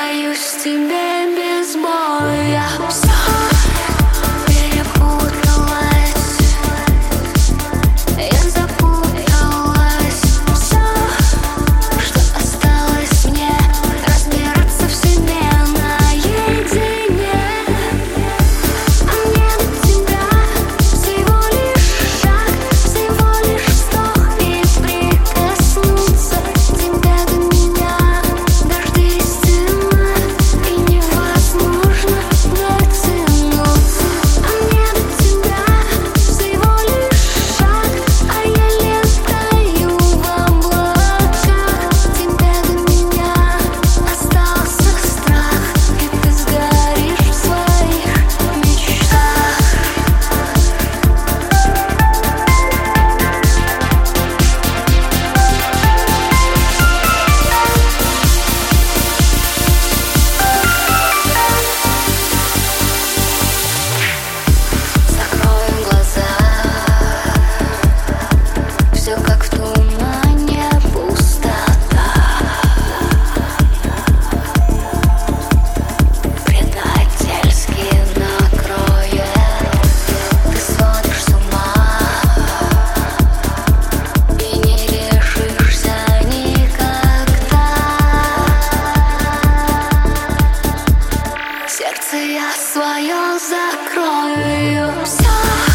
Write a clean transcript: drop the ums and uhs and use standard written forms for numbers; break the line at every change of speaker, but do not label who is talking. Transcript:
отдаюсь тебе без боя. Все перепуталось, я запуталась. Все, что осталось мне, разбираться в себе наедине. А мне до тебя всего лишь шаг, всего лишь вздох и прикоснуться. Тебя до меня дожди стена, и невозможно дотянуться. А мне до тебя всего лишь шаг, а я летаю в облаках. Тебя до меня остался страх, и ты сгоришь в своих мечтах. Закрою глаза, все как в тумане, пустота. Предательски накроет, ты сводишь с ума и не решишься никогда. Сердце я свое закрою. Все